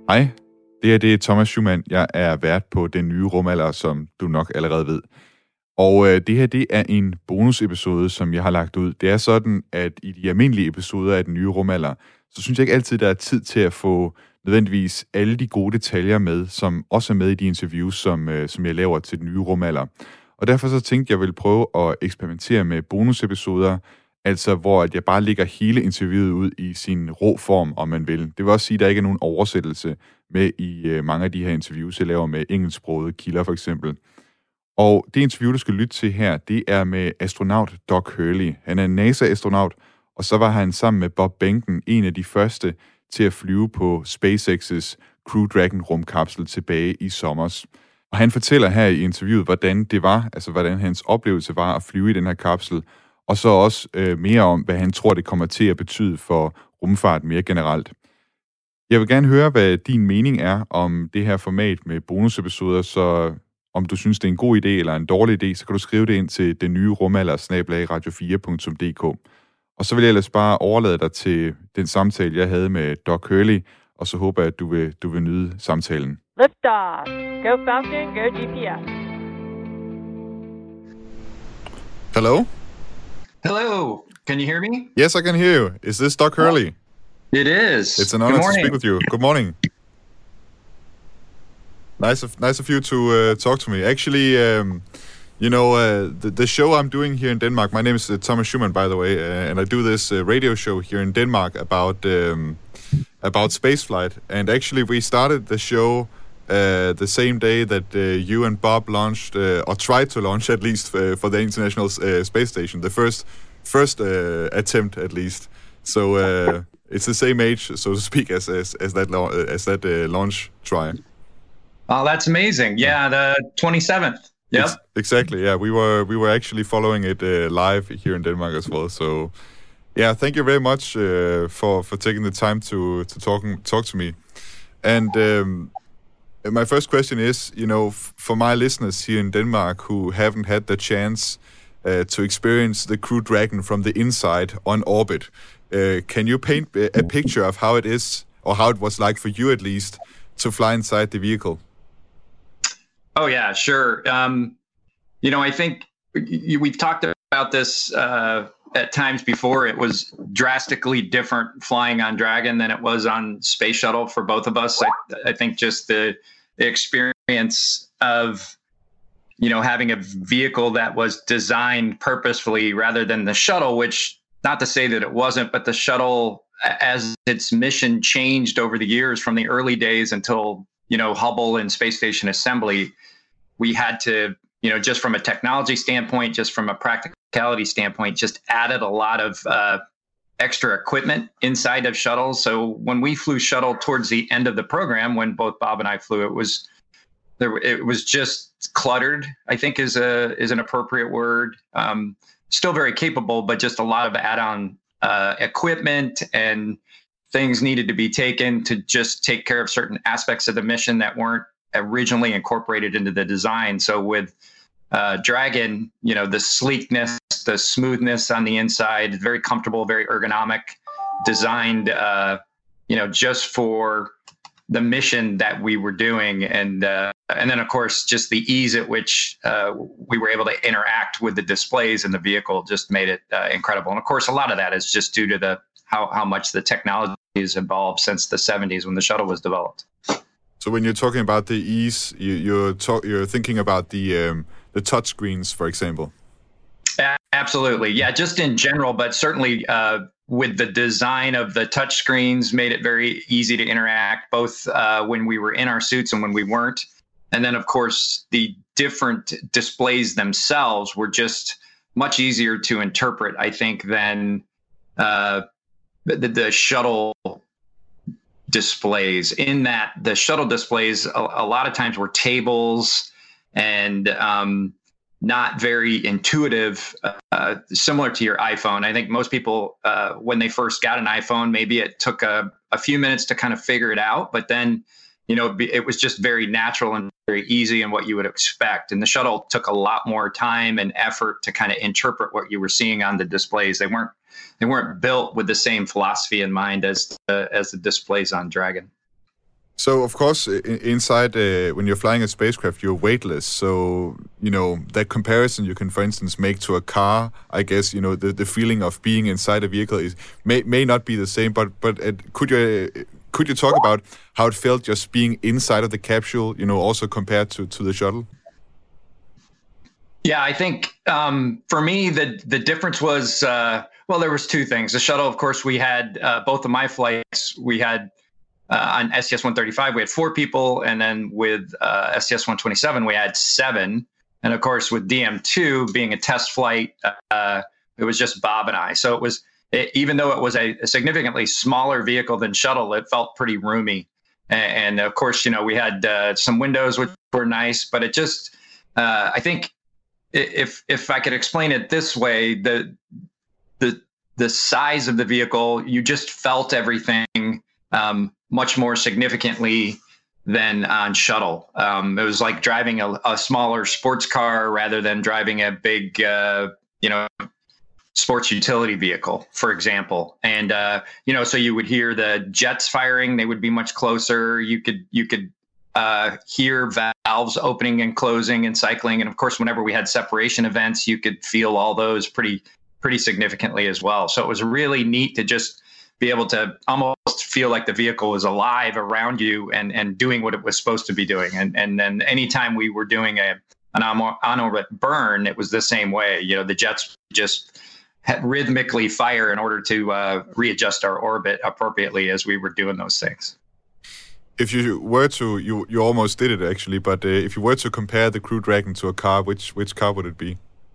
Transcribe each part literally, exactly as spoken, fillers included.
Hej, det her det er Thomas Schumann. Jeg er vært på Den Nye Rumalder, som du nok allerede ved. Og øh, det her det er en bonusepisode, som jeg har lagt ud. Det er sådan, at i de almindelige episoder af Den Nye Rumalder, så synes jeg ikke altid, der er tid til at få nødvendigvis alle de gode detaljer med, som også er med i de interviews, som, øh, som jeg laver til Den Nye Rumalder. Og derfor så tænkte jeg, at jeg ville prøve at eksperimentere med bonusepisoder, altså hvor at jeg bare lægger hele interviewet ud i sin rå form, om man vil. Det vil også sige, at der ikke er nogen oversættelse med i øh, mange af de her interviews, jeg laver med engelsksprogede kilder for eksempel. Og det interview, du skal lytte til her, det er med astronaut Doug Hurley. Han er en NASA-astronaut, og så var han sammen med Bob Behnken en af de første til at flyve på SpaceX's Crew Dragon-rumkapsel tilbage i sommers. Og han fortæller her i interviewet, hvordan det var, altså hvordan hans oplevelse var at flyve i den her kapsel, og så også øh, mere om, hvad han tror, det kommer til at betyde for rumfart mere generelt. Jeg vil gerne høre, hvad din mening er om det her format med bonusepisoder, så om du synes, det er en god idé eller en dårlig idé, så kan du skrive det ind til den nye rumalder snabel-a radio fire punktum d k. Og så vil jeg ellers bare overlade dig til den samtale, jeg havde med Doug Hurley, og så håber jeg, at du vil, du vil nyde samtalen. Lift off. Go Falcon, go G P S. Hello? Hello. Can you hear me? Yes, I can hear you. Is this Doug Hurley? It is. It's an honor to speak with you. Good morning. Nice of, nice of you to uh, talk to me. Actually, um, you know, uh, the, the show I'm doing here in Denmark, my name is uh, Thomas Schumann, by the way, uh, and I do this uh, radio show here in Denmark about um, about spaceflight. And actually, we started the show uh, the same day that uh, you and Bob launched, uh, or tried to launch at least, uh, for the International uh, Space Station, the first first uh, attempt at least. So uh, it's the same age, so to speak, as as, as that la- as that uh, launch try. Oh, that's amazing! Yeah, the twenty-seventh. Yep. Ex- exactly. Yeah, we were we were actually following it uh, live here in Denmark as well. So, yeah, thank you very much uh, for for taking the time to to talk talk to me. And um, my first question is, you know, f- for my listeners here in Denmark who haven't had the chance uh, to experience the Crew Dragon from the inside on orbit, uh, can you paint a, a picture of how it is, or how it was like for you at least, to fly inside the vehicle? Oh yeah, sure. Um, you know, I think you, we've talked about this uh, at times before. It was drastically different flying on Dragon than it was on Space Shuttle for both of us. I, I think just the, the experience of, you know, having a vehicle that was designed purposefully rather than the shuttle, which, not to say that it wasn't, but the shuttle, as its mission changed over the years from the early days until, you know, Hubble and Space Station Assembly, we had to, you know, just from a technology standpoint, just from a practicality standpoint, just added a lot of uh, extra equipment inside of shuttles. So when we flew shuttle towards the end of the program, when both Bob and I flew, it was there. It was just cluttered, I think is a is an appropriate word. Um, still very capable, but just a lot of add-on uh, equipment and things needed to be taken to just take care of certain aspects of the mission that weren't originally incorporated into the design. So with uh, Dragon, you know, the sleekness, the smoothness on the inside, very comfortable, very ergonomic, designed, uh, you know, just for the mission that we were doing. And uh, and then, of course, just the ease at which uh, we were able to interact with the displays in the vehicle just made it uh, incredible. And of course, a lot of that is just due to the how, how much the technology has evolved since the seventies when the shuttle was developed. So when you're talking about the ease, you, you're talk, you're thinking about the um, the touch screens, for example. Absolutely, yeah. Just in general, but certainly uh, with the design of the touch screens, made it very easy to interact, both uh, when we were in our suits and when we weren't. And then, of course, the different displays themselves were just much easier to interpret, I think, than uh, the, the shuttle displays. In that the shuttle displays a, a lot of times were tables and um, not very intuitive, uh, similar to your iPhone. I think most people, uh, when they first got an iPhone, maybe it took a, a few minutes to kind of figure it out, but then, you know, it was just very natural and very easy and what you would expect. And the shuttle took a lot more time and effort to kind of interpret what you were seeing on the displays. They weren't They weren't built with the same philosophy in mind as the, as the displays on Dragon. So, of course, inside, uh, when you're flying a spacecraft, you're weightless. So, you know, that comparison you can, for instance, make to a car, I guess, you know, the, the feeling of being inside a vehicle is may may not be the same, but but uh, could you uh, could you talk about how it felt just being inside of the capsule, you know, also compared to, to the shuttle? Yeah, I think um, for me, the the difference was, uh, well, there was two things. The shuttle, of course, we had uh, both of my flights, we had Uh, on S T S one thirty-five, we had four people, and then with uh, S T S one twenty-seven, we had seven. And of course, with D M two being a test flight, uh, it was just Bob and I. So it was, it, even though it was a, a significantly smaller vehicle than shuttle, it felt pretty roomy. And, and of course, you know, we had uh, some windows which were nice, but it just, uh, I think, if if I could explain it this way, the the the size of the vehicle, you just felt everything Um, much more significantly than on shuttle. Um, it was like driving a, a smaller sports car rather than driving a big, uh, you know, sports utility vehicle, for example. And, uh, you know, so you would hear the jets firing, they would be much closer. You could, you could uh, hear valves opening and closing and cycling. And of course, whenever we had separation events, you could feel all those pretty, pretty significantly as well. So it was really neat to just be able to almost feel like the vehicle was alive around you and, and doing what it was supposed to be doing. And and then anytime we were doing a an on-orbit burn, it was the same way. You know, the jets just had rhythmically fire in order to uh, readjust our orbit appropriately as we were doing those things. If you were to, you you almost did it actually, but uh, if you were to compare the Crew Dragon to a car, which which car would it be?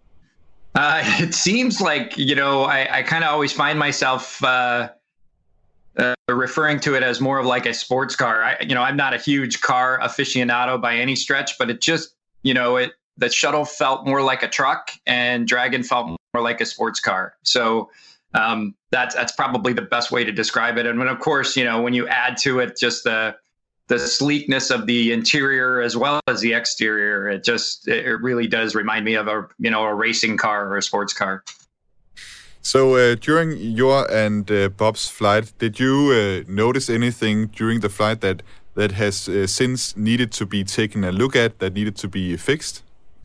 Uh, it seems like, you know, I, I kind of always find myself uh, Uh, referring to it as more of like a sports car. I, you know, I'm not a huge car aficionado by any stretch, but it just, you know, it the shuttle felt more like a truck, and Dragon felt more like a sports car. So um, that's that's probably the best way to describe it. And when, of course, you know, when you add to it just the the sleekness of the interior as well as the exterior, it just it really does remind me of a you know a racing car or a sports car. So uh, during your and uh, Bob's flight, did you uh, notice anything during the flight that that has uh, since needed to be taken a look at, that needed to be fixed?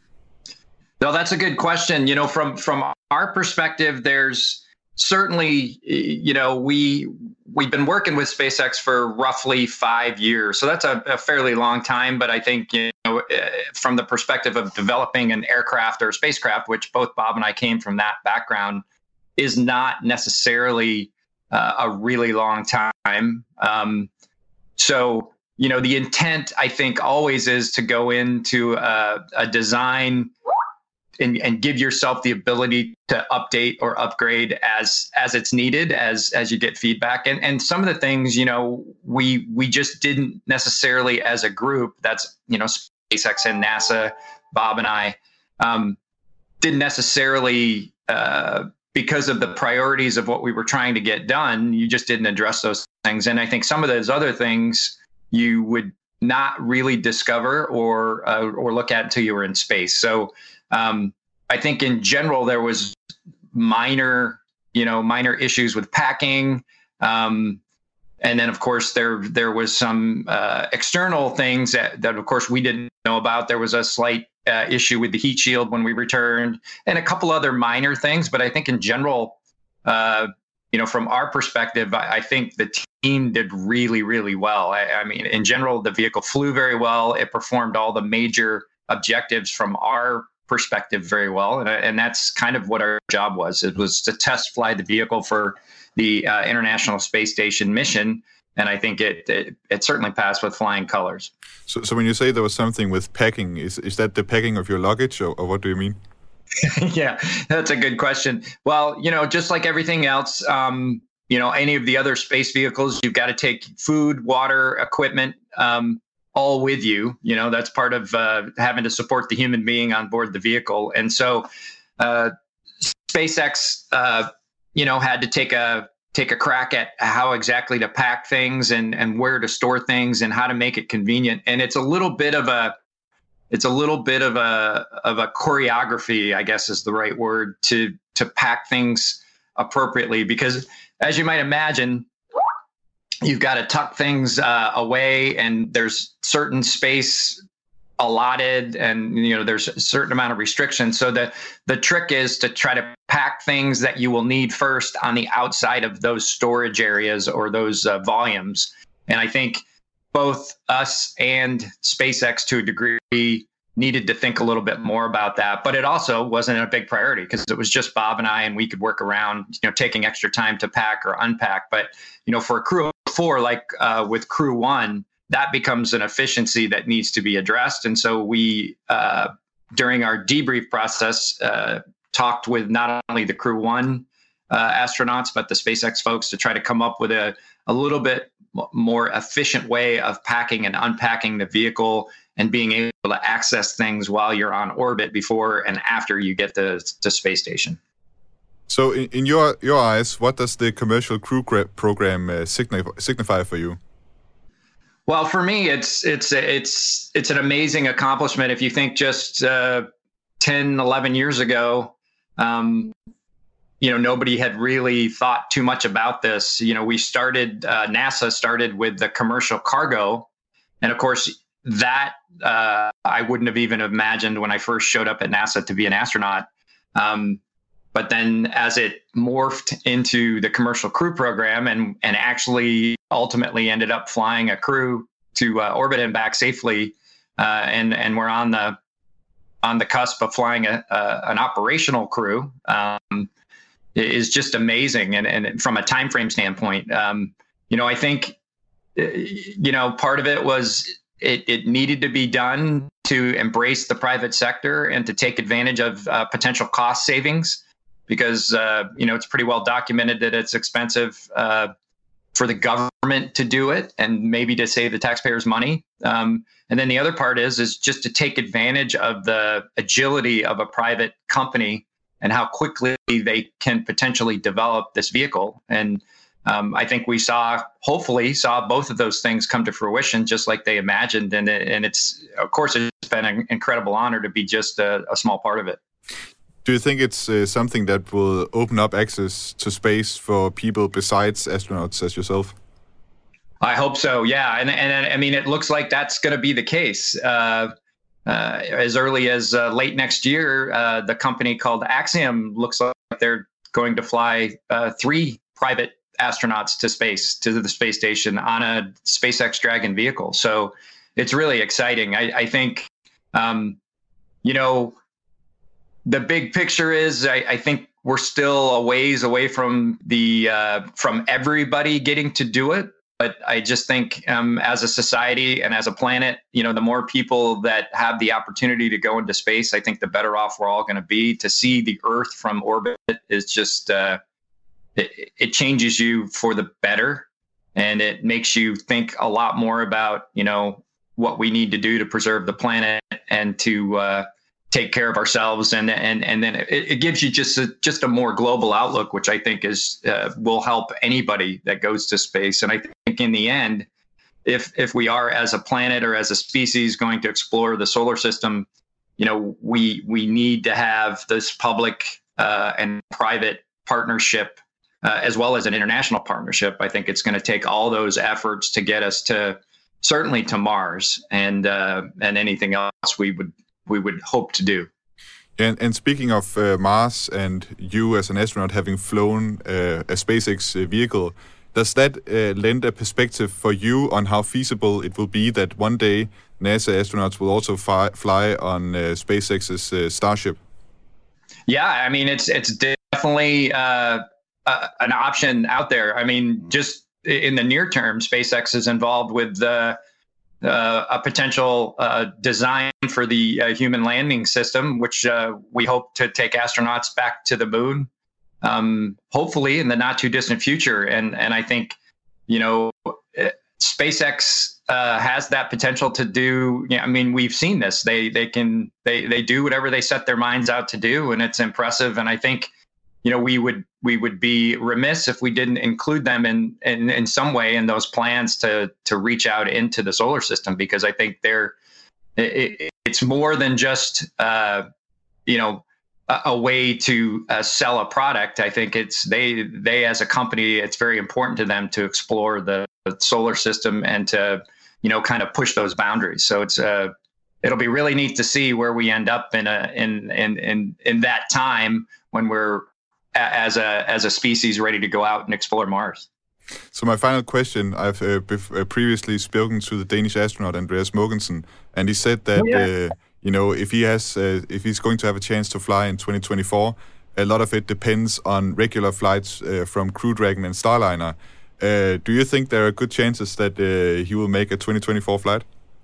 No, that's a good question. You know, from from our perspective, there's certainly, you know, we we've been working with SpaceX for roughly five years, so that's a, a fairly long time. But I think, you know, from the perspective of developing an aircraft or a spacecraft, which both Bob and I came from that background, is not necessarily uh, a really long time. Um, so, you know, the intent, I think, always is to go into a, a design and, and give yourself the ability to update or upgrade as as it's needed, as as you get feedback. And and some of the things, you know, we we just didn't necessarily as a group, that's, you know, SpaceX and NASA, Bob and I, um, didn't necessarily, uh, because of the priorities of what we were trying to get done, you just didn't address those things. And I think some of those other things you would not really discover or uh, or look at until you were in space. So um, I think in general there was minor, you know, minor issues with packing, um, and then of course there there was some uh, external things that that of course we didn't know about. There was a slight uh, issue with the heat shield when we returned, and a couple other minor things. But I think in general, uh, you know, from our perspective, I, I think the team did really, really well. I, I mean, in general, the vehicle flew very well. It performed all the major objectives from our perspective very well. And, and that's kind of what our job was. It was to test fly the vehicle for the uh, International Space Station mission. And I think it, it it certainly passed with flying colors. So, so when you say there was something with packing, is is that the packing of your luggage, or, or what do you mean? Yeah, that's a good question. Well, you know, just like everything else, um, you know, any of the other space vehicles, you've got to take food, water, equipment, um, all with you. You know, that's part of uh, having to support the human being on board the vehicle. And so uh, SpaceX, uh, you know, had to take a take a crack at how exactly to pack things and, and where to store things and how to make it convenient. And it's a little bit of a It's a little bit of a of a choreography, I guess is the right word, to to pack things appropriately. Because as you might imagine, you've got to tuck things uh, away, and there's certain space allotted, and you know there's a certain amount of restrictions. So the the trick is to try to pack things that you will need first on the outside of those storage areas or those uh, volumes. And I think both us and SpaceX, to a degree, needed to think a little bit more about that. But it also wasn't a big priority because it was just Bob and I, and we could work around, you know, taking extra time to pack or unpack. But you know, for a crew of four, like uh, with Crew One, that becomes an efficiency that needs to be addressed. And so we, uh, during our debrief process, uh, talked with not only the Crew One uh, astronauts, but the SpaceX folks to try to come up with a, a little bit more efficient way of packing and unpacking the vehicle and being able to access things while you're on orbit before and after you get to, to space station. So in, in your, your eyes, what does the commercial crew program uh, signify, signify for you? Well, for me, it's it's it's it's an amazing accomplishment. If you think just uh, ten, eleven years ago, um, you know, nobody had really thought too much about this. You know, we started, uh, NASA started with the commercial cargo. And of course, that uh, I wouldn't have even imagined when I first showed up at NASA to be an astronaut. Um, But then as it morphed into the commercial crew program and, and actually ultimately ended up flying a crew to uh, orbit and back safely, uh, and, and we're on the on the cusp of flying a, a, an operational crew, um, is just amazing. And, and from a time frame standpoint, um, you know, I think, you know, part of it was it, it needed to be done to embrace the private sector and to take advantage of uh, potential cost savings. Because, uh, you know, it's pretty well documented that it's expensive uh, for the government to do it and maybe to save the taxpayers money. Um, and then the other part is, is just to take advantage of the agility of a private company and how quickly they can potentially develop this vehicle. And um, I think we saw, hopefully saw both of those things come to fruition just like they imagined. And, it, and it's, of course, it's been an incredible honor to be just a, a small part of it. Do you think it's uh, something that will open up access to space for people besides astronauts as yourself? I hope so, yeah. And, and I mean, it looks like that's going to be the case. Uh, uh, as early as uh, late next year, uh, the company called Axiom looks like they're going to fly uh, three private astronauts to space, to the space station on a SpaceX Dragon vehicle. So it's really exciting. I, I think, um, you know, the big picture is I, I think we're still a ways away from the uh, from everybody getting to do it. But I just think um, as a society and as a planet, you know, the more people that have the opportunity to go into space, I think the better off we're all going to be. To see the Earth from orbit is just uh, it, it changes you for the better, and it makes you think a lot more about, you know, what we need to do to preserve the planet and to uh, take care of ourselves, and and and then it, it gives you just a, just a more global outlook, which I think is uh, will help anybody that goes to space. And I think in the end, if if we are as a planet or as a species going to explore the solar system, you know, we we need to have this public uh, and private partnership uh, as well as an international partnership. I think it's going to take all those efforts to get us to certainly to Mars and uh, and anything else we would. we would hope to do. And, and speaking of uh, Mars and you as an astronaut having flown uh, a SpaceX vehicle, does that uh, lend a perspective for you on how feasible it will be that one day NASA astronauts will also fly, fly on uh, SpaceX's uh, Starship? Yeah, I mean, it's it's definitely uh, uh, an option out there. I mean, just in the near term, SpaceX is involved with the uh, Uh, a potential uh, design for the uh, human landing system, which uh, we hope to take astronauts back to the moon, um, hopefully in the not too distant future. And and I think, you know, SpaceX uh, has that potential to do. You know, I mean, we've seen this. They they can they they do whatever they set their minds out to do, and it's impressive. And I think, you know, we would we would be remiss if we didn't include them in, in, in some way in those plans to to reach out into the solar system, because I think they're it, it's more than just uh, you know a, a way to uh, sell a product. I think it's they they as a company, it's very important to them to explore the solar system and to, you know, kind of push those boundaries. So it's uh, it'll be really neat to see where we end up in a in in in in that time when we're as a as a species ready to go out and explore Mars. So my final question, I've uh, bef- uh, previously spoken to the Danish astronaut Andreas Mogensen, and he said that, oh, yeah. uh, you know, if he has, uh, if he's going to have a chance to fly in twenty twenty-four, a lot of it depends on regular flights uh, from Crew Dragon and Starliner. Uh, do you think there are good chances that uh, he will make a twenty twenty-four flight?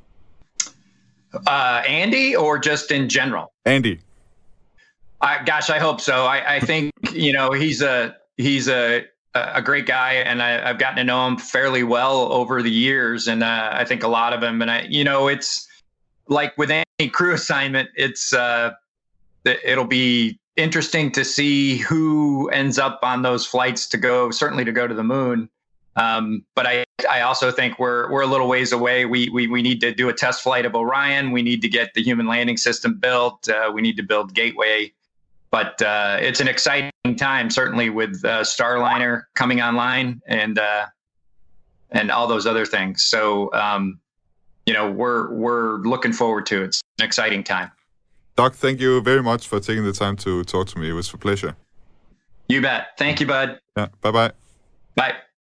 Uh, Andy, or just in general? Andy. I, gosh, I hope so. I, I think, you know, he's a, he's a, a great guy, and I, I've gotten to know him fairly well over the years, and uh, I think a lot of him. And I, you know, it's like with any crew assignment, it's uh, it'll be interesting to see who ends up on those flights to go, certainly to go to the moon. Um, but I, I also think we're we're a little ways away. We we we need to do a test flight of Orion. We need to get the human landing system built. Uh, we need to build Gateway. But uh, it's an exciting time, certainly with uh, Starliner coming online and uh, and all those other things. So, um, you know, we're we're looking forward to it. It's an exciting time. Doug, thank you very much for taking the time to talk to me. It was a pleasure. You bet. Thank you, bud. Yeah. Bye-bye. Bye.